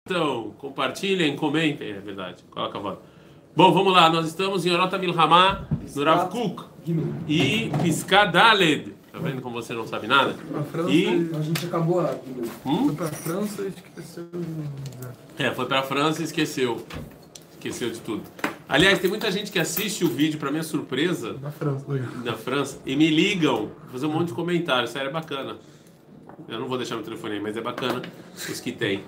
Então, compartilhem, comentem, é verdade. Coloca a voz. Bom, vamos lá. Nós estamos em Orota Milhamá, no Rav Kook. E Piscá Daled. Tá vendo como você não sabe nada? A França, a gente acabou lá. Foi pra França e esqueceu. Foi pra França e esqueceu. Esqueceu de tudo. Aliás, tem muita gente que assiste o vídeo, pra minha surpresa, na França, e me ligam, fazer um monte de comentários. Sério, é bacana. Eu não vou deixar meu telefone aí, mas é bacana os que tem.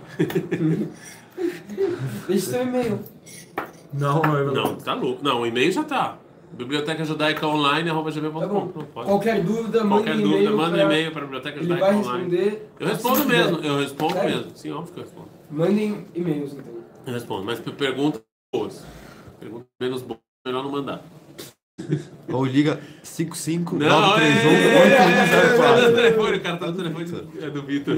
Deixa seu e-mail. Não, tá louco. Não, o e-mail já tá. Biblioteca Judaica Online, @gmail.com. Qualquer dúvida, manda um e-mail para a Biblioteca Judaica Online. Responder. Eu respondo mesmo, mesmo. Sim, óbvio que eu respondo. Mandem e-mails, então. Eu respondo, mas perguntas boas. Perguntas menos boas, melhor não mandar. Ou liga 55 não, 931 o cara tá no telefone do Vitor.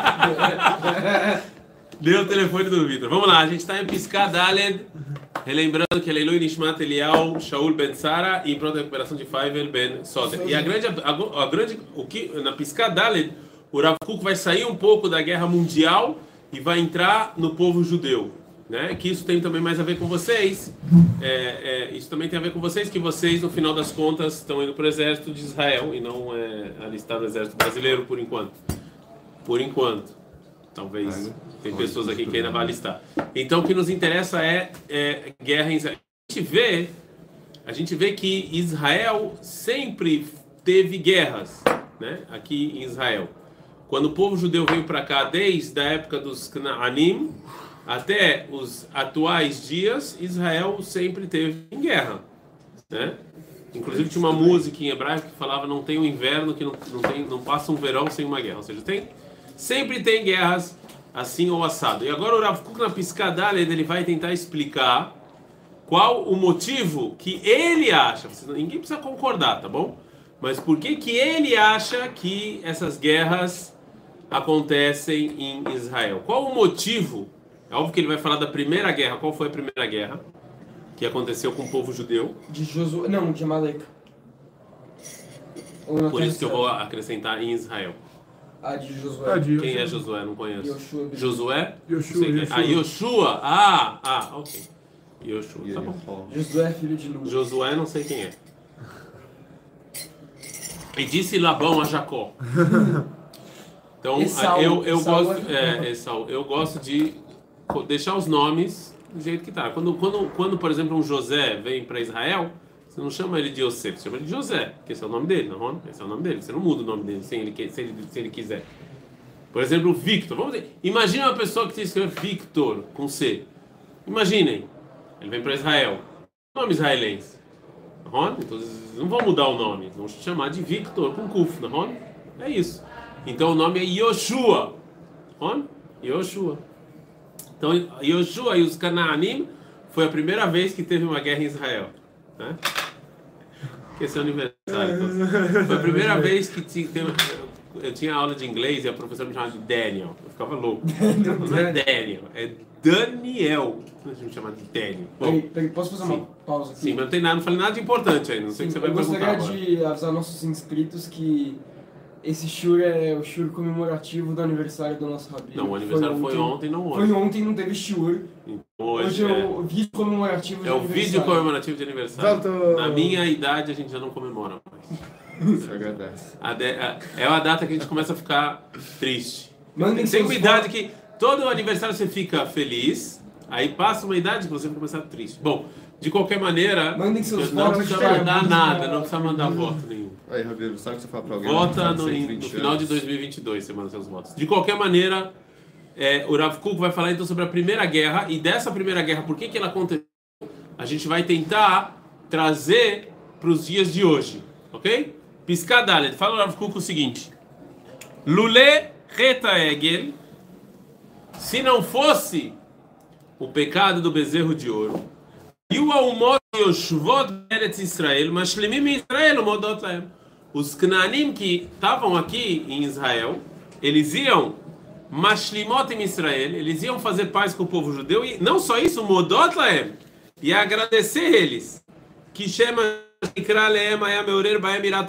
Deu o telefone do Vitor. Vamos lá, a gente está em Piscá Daled, relembrando que Leilu Nishmat Eliyahu Shaul Ben Sara e em pronta recuperação de Faivel Ben Soder. E na Piscá Daled, o Rav Kook vai sair um pouco da guerra mundial e vai entrar no povo judeu. Né? Que isso tem também mais a ver com vocês. Isso também tem a ver com vocês, que vocês, no final das contas, estão indo para o exército de Israel e não alistar no exército brasileiro, por enquanto. Por enquanto. Talvez tem pessoas aqui que ainda vão alistar. Então, o que nos interessa é guerra em Israel. A gente vê que Israel sempre teve guerras, né? Aqui em Israel. Quando o povo judeu veio para cá, desde a época dos Canaanim até os atuais dias, Israel sempre teve em guerra, né? Inclusive tinha uma música em hebraico que falava: não tem um inverno que não passa um verão sem uma guerra. Ou seja, sempre tem guerras assim ou assado. E agora o Rav Kook na Piscá Daled, ele vai tentar explicar qual o motivo que ele acha. Ninguém precisa concordar, tá bom? Mas por que ele acha que essas guerras acontecem em Israel? Qual o motivo? É óbvio que ele vai falar da primeira guerra. Qual foi a primeira guerra que aconteceu com o povo judeu? De Josué, não, de Amalek. Por isso que eu vou acrescentar em Israel. De Josué. Quem é Josué? Não conheço. Yoshua. Josué? Yoshua. Yoshua. Ok. Yoshua, tá bom. Josué, filho de Nun. Josué, não sei quem é. E disse Labão a Jacó. Então, eu gosto de deixar os nomes do jeito que tá. Quando, por exemplo, um José vem para Israel, você não chama ele de Yosef, você chama ele de José, porque esse é o nome dele, não? Esse é o nome dele. Você não muda o nome dele se ele quiser. Por exemplo, Victor. Imagina uma pessoa que se escreve Victor com C. Imaginem, ele vem para Israel. Nome israelense. Não? Então, não vão mudar o nome, vão chamar de Victor com Kuf, não? É isso. Então o nome é Yoshua. Yoshua. Então, Yoshua e os Canaanim foi a primeira vez que teve uma guerra em Israel, né? Esse é o aniversário. Então. Foi a primeira vez que eu tinha aula de inglês e a professora me chamava de Daniel. Eu ficava louco. Não é Daniel, é Daniel. Não me chamar de Daniel. Bom, posso fazer uma pausa aqui? Sim, mas não tem nada, não falei nada de importante aí. Não sei o que você vai perguntar agora. Eu gostaria de avisar nossos inscritos que esse shur é o shur comemorativo do aniversário do nosso rabino. Não, o aniversário foi ontem, não hoje. Foi ontem, não teve shur. Hoje é o vídeo comemorativo de aniversário. É o vídeo comemorativo de aniversário. Na minha idade a gente já não comemora mais. Isso agradece. É uma data que a gente começa a ficar triste. Tem uma idade que todo aniversário você fica feliz, aí passa uma idade que você vai começar triste. Bom, de qualquer maneira, mandem seus não precisa mandar nada, não precisa mandar voto nenhum. Aí, Rabino, sabe o que você fala pra alguém? Vota no final de 2022, você manda seus votos. De qualquer maneira, o Rav Kook vai falar então sobre a primeira guerra, e dessa primeira guerra, por que ela aconteceu? A gente vai tentar trazer para os dias de hoje, ok? Piscá Daled, fala o Rav Kook o seguinte: Lule Reta Egel, se não fosse o pecado do bezerro de ouro, e o Almot Yoshvot Eretz Israel, mas Shlemim Israel, Modot Laem. Os Canaanim que estavam aqui em Israel, eles iam Mashlimot em Israel, eles iam fazer paz com o povo judeu, e não só isso, Modot Laem, e agradecer eles, que chama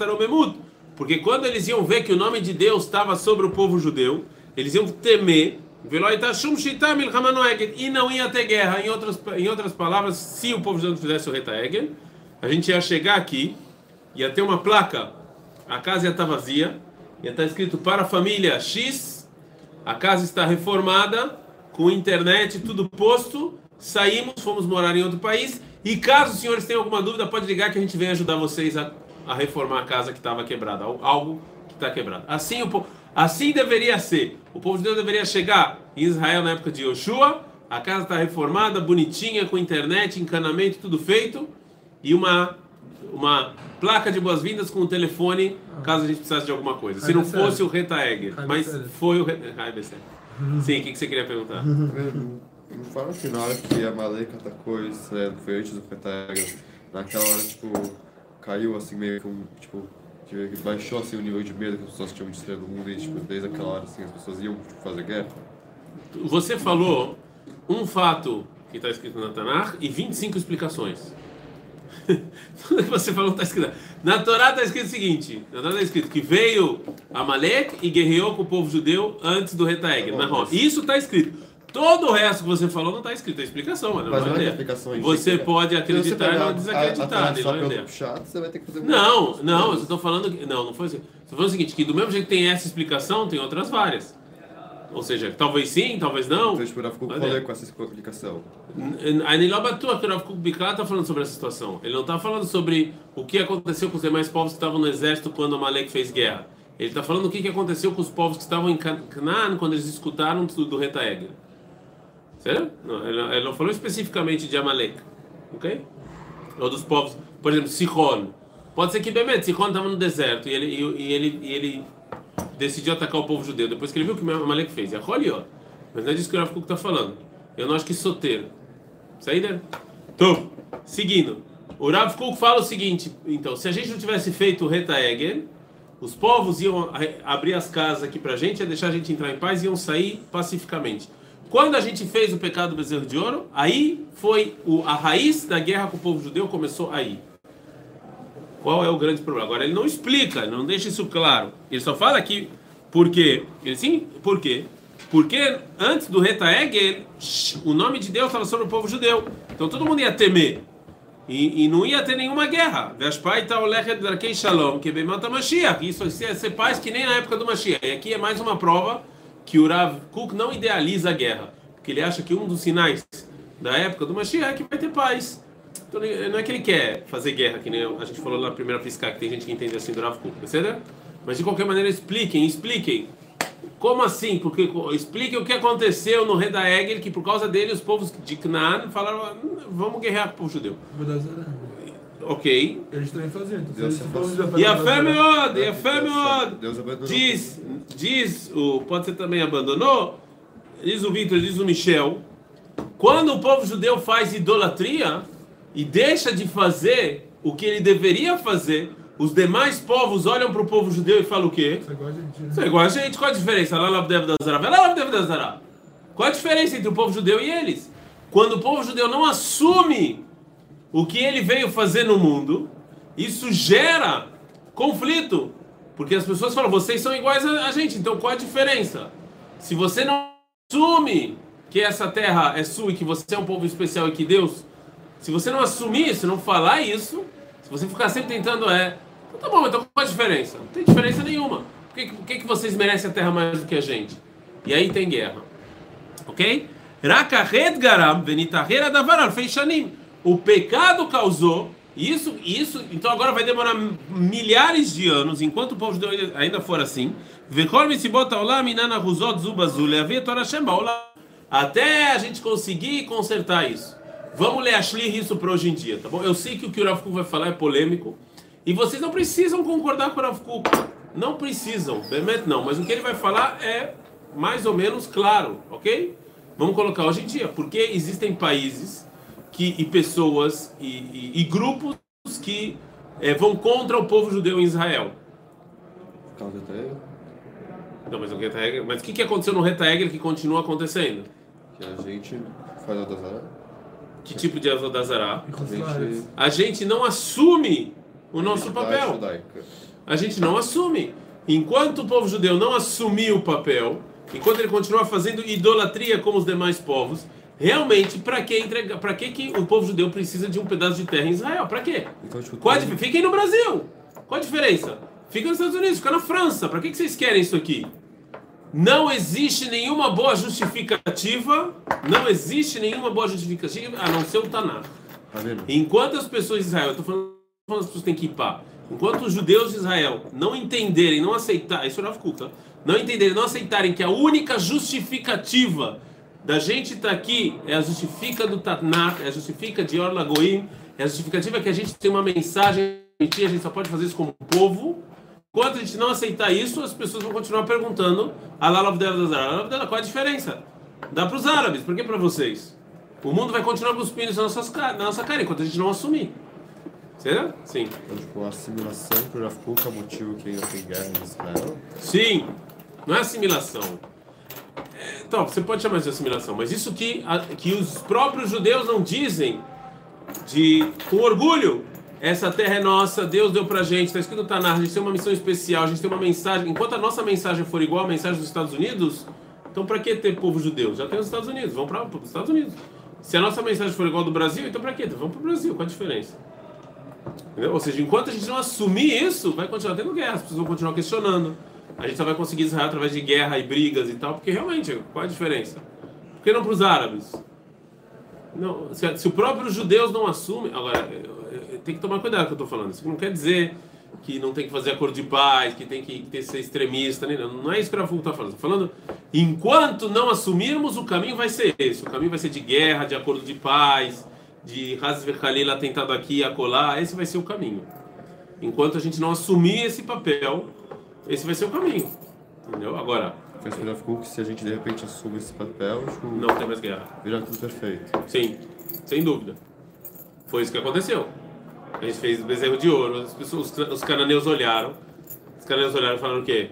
porque quando eles iam ver que o nome de Deus estava sobre o povo judeu, eles iam temer E não ia ter guerra. Em outras palavras, se o povo judeu não fizesse o Reta Egel, a gente ia chegar aqui, ia ter uma placa, a casa ia estar vazia, ia estar escrito para a família X, a casa está reformada, com internet, tudo posto, saímos, fomos morar em outro país, e caso os senhores tenham alguma dúvida, pode ligar que a gente vem ajudar vocês a reformar a casa que estava quebrada, algo que está quebrado. Assim deveria ser. O povo de Deus deveria chegar em Israel na época de Yoshua, a casa está reformada, bonitinha, com internet, encanamento, tudo feito, e uma placa de boas-vindas com um telefone, caso a gente precisasse de alguma coisa. Se não fosse o Reta Egel, mas foi o Reta Egel. Sim, o que você queria perguntar? Não fala que na hora que a Malek atacou Israel, foi antes do Reta Egel, naquela hora, tipo, caiu assim meio que que baixou assim o nível de medo que as pessoas tinham de Israel no mundo e, tipo, desde aquela hora assim, as pessoas iam fazer guerra. Você falou um fato que está escrito na Tanakh e 25 explicações. Tudo que você falou está escrito. Na Torá está escrito o seguinte: na Torá está escrito que veio Amalek e guerreou com o povo judeu antes do Reta Egel. Isso está escrito. Todo o resto que você falou não está escrito. É explicação, mano. Mas não é explicação. Você pode acreditar e não desacreditar. Você vai ter que fazer não, eu estou falando que. Não foi assim. Estou falando o seguinte: que do mesmo jeito que tem essa explicação, tem outras várias. Ou seja, talvez sim, talvez não. Então, tipo, o Rav Kuk falou com essa explicação. A Nilobatua, que o Rav Kuk Bikla está falando sobre essa situação. Ele não está falando sobre o que aconteceu com os demais povos que estavam no exército quando Amalek fez guerra. Ele está falando o que aconteceu com os povos que estavam em Canaã quando eles escutaram do Reta Egel. Certo? Não, ele não falou especificamente de Amalek. Ok? Ou dos povos. Por exemplo, Sihon. Pode ser que Bemet, Sihon estava no deserto e ele decidiu atacar o povo judeu depois que ele viu o que Amalek fez. Mas não é disso que o Rav Kuk está falando. Eu não acho que soter. Saída? Então, seguindo. O Rav Kuk fala o seguinte: então, se a gente não tivesse feito o Reta Egel, os povos iam abrir as casas aqui pra gente, ia deixar a gente entrar em paz e iam sair pacificamente. Quando a gente fez o pecado do bezerro de ouro, aí foi a raiz da guerra com o povo judeu, começou aí. Qual é o grande problema? Agora ele não explica, não deixa isso claro. Ele só fala aqui por quê. Por quê? Porque antes do Reta Egel, o nome de Deus estava sobre o povo judeu. Então todo mundo ia temer. E não ia ter nenhuma guerra. Isso ia ser paz que nem na época do Mashiach. E aqui é mais uma prova que o Rav Kuk não idealiza a guerra. Porque ele acha que um dos sinais da época do Mashiach é que vai ter paz. Então não é que ele quer fazer guerra, que nem a gente falou na primeira piscar, que tem gente que entende assim do Rav Kuk. Mas de qualquer maneira expliquem. Como assim? Porque expliquem o que aconteceu no Reta Egel, que por causa dele os povos de Canaã falaram: vamos guerrear com o povo judeu. Ok. Eles também faziam. E a fé diz pode ser também abandonou, diz o Victor, diz o Michel, quando o povo judeu faz idolatria e deixa de fazer o que ele deveria fazer, os demais povos olham para o povo judeu e falam o quê? Isso é igual a gente. Qual a diferença? Qual a diferença entre o povo judeu e eles? Quando o povo judeu não assume o que ele veio fazer no mundo, isso gera conflito. Porque as pessoas falam: vocês são iguais a gente, então qual a diferença? Se você não assume que essa terra é sua e que você é um povo especial e que Deus... Se você não assumir isso, não falar isso, se você ficar sempre tentando então tá bom, então qual a diferença? Não tem diferença nenhuma. Por que vocês merecem a terra mais do que a gente? E aí tem guerra. Ok? Rakahet garam venitahera davar alfei shanim. O pecado causou isso, então agora vai demorar milhares de anos, enquanto o povo judeu ainda for assim, até a gente conseguir consertar isso. Vamos ler isso para hoje em dia, tá bom? Eu sei que o Rav Kuk vai falar é polêmico, e vocês não precisam concordar com o Rav Kuk. Não precisam, não, mas o que ele vai falar é mais ou menos claro, ok? Vamos colocar hoje em dia, porque existem países e pessoas e grupos que vão contra o povo judeu em Israel. Não, mas o que aconteceu no Reta Egel que continua acontecendo? Que a gente faz Avodah. Que tipo de Avodah? A gente não assume o nosso papel. A gente não assume. Enquanto o povo judeu não assumir o papel, enquanto ele continua fazendo idolatria como os demais povos, realmente, para que o povo judeu precisa de um pedaço de terra em Israel? Para quê? Então, tipo, Fiquem no Brasil. Qual a diferença? Fica nos Estados Unidos, fica na França. Para que vocês querem isso aqui? Não existe nenhuma boa justificativa. Não existe nenhuma boa justificativa a não ser o Taná. Tá vendo? Enquanto as pessoas de Israel, eu estou falando as pessoas têm que ir para. Enquanto os judeus de Israel não entenderem, não aceitarem, isso é Rav Kuk, tá? Não entenderem, não aceitarem que a única justificativa da gente estar aqui é a justifica do Tanakh, é a justifica de Or Lagoim, é a justificativa que a gente tem uma mensagem, a gente só pode fazer isso como povo. Enquanto a gente não aceitar isso, as pessoas vão continuar perguntando qual é a diferença? Dá para os árabes, por que para vocês? O mundo vai continuar cuspindo isso na nossa cara enquanto a gente não assumir. Será? Sim. Então, tipo, a assimilação pro Rav Kuk é o motivo que ainda tem guerra em Israel? Sim, não é assimilação. Então, você pode chamar de assimilação, mas isso que os próprios judeus não dizem com orgulho. Essa terra é nossa, Deus deu pra gente, está escrito no Tanakh, a gente tem uma missão especial, a gente tem uma mensagem. Enquanto a nossa mensagem for igual à mensagem dos Estados Unidos, então para que ter povo judeu? Já tem os Estados Unidos, vamos para os Estados Unidos. Se a nossa mensagem for igual ao do Brasil, então para que? Vamos para o Brasil, qual a diferença? Entendeu? Ou seja, enquanto a gente não assumir isso, vai continuar tendo guerra, as pessoas vão continuar questionando. A gente só vai conseguir Israel através de guerra e brigas e tal, porque realmente, qual a diferença? Por que não para os árabes? Não, se os próprios judeus não assumem... Agora, tem que tomar cuidado com o que eu estou falando. Isso não quer dizer que não tem que fazer acordo de paz, que tem que ser extremista, nem não é isso que o Rav Kuk está falando. Estou falando, enquanto não assumirmos, o caminho vai ser esse. O caminho vai ser de guerra, de acordo de paz, de Haz v'Khalil atentado aqui, acolá. Esse vai ser o caminho. Enquanto a gente não assumir esse papel, esse vai ser o caminho. Entendeu? Agora... Mas o Rav Kuk, se a gente de repente assume esse papel, tipo, não tem mais guerra. Vira tudo perfeito. Sim, sem dúvida. Foi isso que aconteceu. A gente fez bezerro de ouro, os cananeus olharam. Os cananeus olharam e falaram o quê?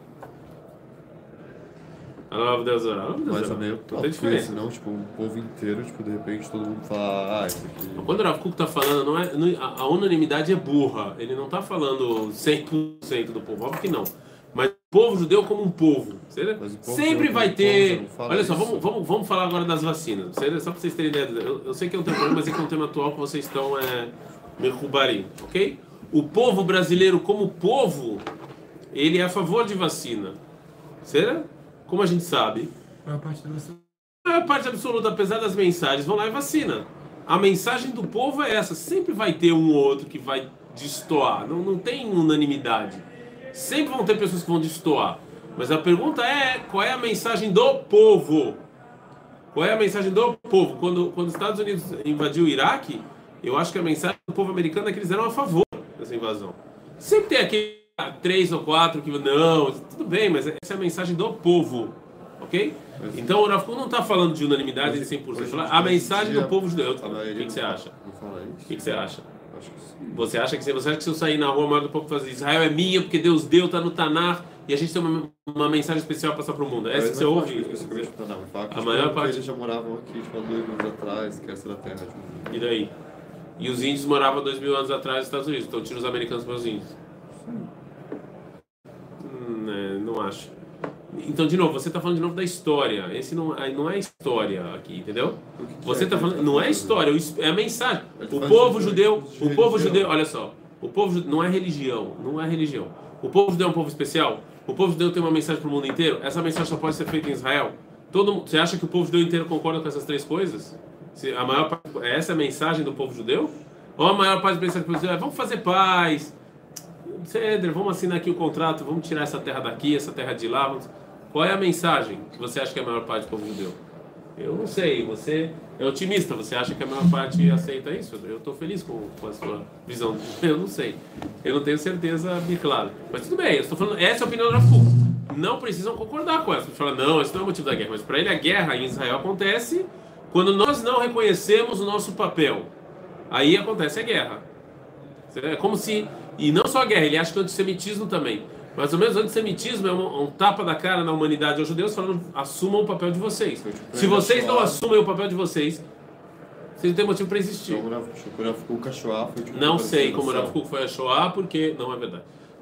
Mas é meio top, senão, tipo, um povo inteiro, tipo, de repente todo mundo fala, isso aqui... Quando o Rav Kuk está falando, a unanimidade é burra. Ele não está falando 100% do povo, óbvio que não. Mas o povo judeu como um povo. Sempre vai ter... Olha só, vamos falar agora das vacinas. Só para vocês terem ideia. Eu sei que é um tema, mas é que é um tema atual que vocês estão merrubarim, ok? O povo brasileiro como povo, ele é a favor de vacina. Será? Como a gente sabe. A parte absoluta, apesar das mensagens, vão lá e vacina. A mensagem do povo é essa. Sempre vai ter um ou outro que vai destoar. Não tem unanimidade. Sempre vão ter pessoas que vão destoar. Mas a pergunta é, qual é a mensagem do povo? Qual é a mensagem do povo? Quando os Estados Unidos invadiu o Iraque, eu acho que a mensagem do povo americano é que eles eram a favor dessa invasão. Sempre tem aqui 3 ou 4 que não, tudo bem, mas essa é a mensagem do povo, ok? Então o Rav Kuk não está falando de unanimidade de 100%. A mensagem do povo judeu. O que você acha? O que você acha? Você acha que se eu sair na rua, a maior do povo fazer Israel é minha porque Deus deu, está no Tanakh e a gente tem uma mensagem especial para passar para o mundo? É essa que você ouve? A maior parte. Eles já moravam aqui, tipo, há 2 anos atrás, que essa era a terra. Tipo... E daí? E os índios moravam 2.000 anos atrás nos Estados Unidos, então tira os americanos para os índios. Não acho. Então, de novo, você está falando de novo da história. Esse não é história aqui, entendeu? Você está falando, não é história, é a mensagem. O povo judeu, olha só, o povo judeu não é religião. O povo judeu é um povo especial. O povo judeu tem uma mensagem para o mundo inteiro. Essa mensagem só pode ser feita em Israel. Você acha que o povo judeu inteiro concorda com essas 3 coisas? Essa é a mensagem do povo judeu? Ou a maior parte da mensagem do povo judeu é vamos fazer paz, Cedro, vamos assinar aqui o contrato, vamos tirar essa terra daqui, essa terra de lá. Qual é a mensagem que você acha que é a maior parte do povo judeu? Eu não sei, você é otimista, você acha que a maior parte aceita isso? Eu estou feliz com a sua visão, eu não sei, eu não tenho certeza bem clara. Mas tudo bem, eu estou falando, essa é a opinião do Rav Kuk. Não precisam concordar com essa. Você fala, não, esse não é o motivo da guerra, mas para ele a guerra em Israel acontece quando nós não reconhecemos o nosso papel. Aí acontece a guerra. É como se... E não só a guerra, ele acha que o antissemitismo também. Mais ou menos o antissemitismo é um tapa da cara na humanidade aos judeus falando, assumam o papel de vocês. Se vocês não assumem o papel de vocês, vocês não têm motivo para existir. Não sei como o Rav Kuk foi a Shoah, porque não é verdade.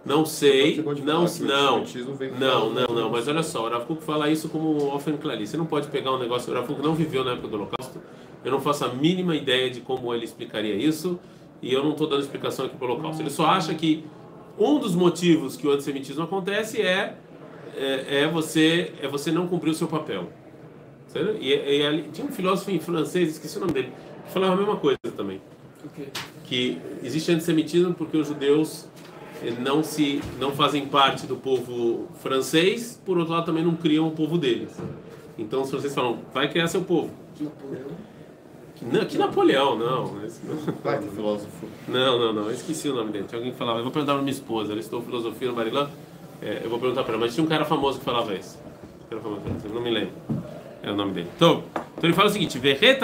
Não sei, Você pode não, falar que o não, antissemitismo vem por não, causa não, da- não, mas olha só, o Rav Kuk fala isso como Ofen Klali. Você não pode pegar um negócio, o Rav Kuk não viveu na época do Holocausto, eu não faço a mínima ideia de como ele explicaria isso, e eu não estou dando explicação aqui para o Holocausto. Ele só acha que um dos motivos que o antissemitismo acontece é você não cumprir o seu papel. Certo? Tinha um filósofo em francês, esqueci o nome dele, que falava a mesma coisa também. Ok. Que existe antissemitismo porque os judeus não fazem parte do povo francês, por outro lado também não criam o povo deles. Então os franceses falam, vai criar seu povo. Napoleão. Que Napoleão, não. Vai ter filósofo. Não, eu esqueci o nome dele. Tinha alguém que falava, eu vou perguntar para minha esposa, ela estudou filosofia no Barilã, eu vou perguntar para ela, mas tinha um cara famoso que falava isso. Eu não me lembro. É o nome dele. Então ele fala o seguinte: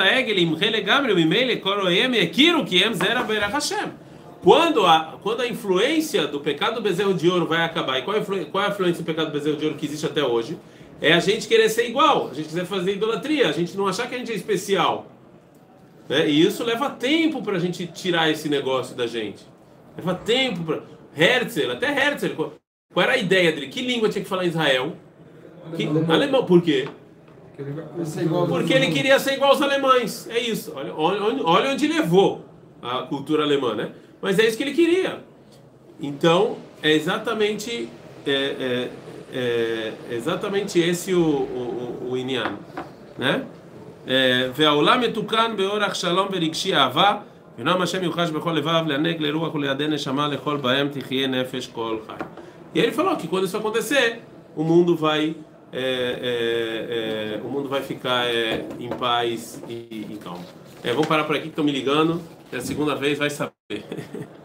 quando a influência do pecado do bezerro de ouro vai acabar, e qual é a influência do pecado do bezerro de ouro que existe até hoje? É a gente querer ser igual, a gente quiser fazer idolatria, a gente não achar que a gente é especial. Né? E isso leva tempo para a gente tirar esse negócio da gente. Leva tempo para. Até Herzl, qual era a ideia dele? Que língua tinha que falar em Israel? Alemão. Por quê? Porque ele queria ser igual aos alemães. É isso. Olha onde levou a cultura alemã, né? Mas é isso que ele queria. Então, é exatamente esse o Inyan, né? והעולם מתוקן באורח שלום ורגשי אהבה ונועם השם יוחש בכל לבב לענג לרוח ולידי נשמה לכל בהם תחיה נפש כל חי. E ele falou que quando isso acontecer, o mundo vai ficar em paz e calmo. Vamos parar por aqui que estão me ligando. É a segunda vez, vai saber.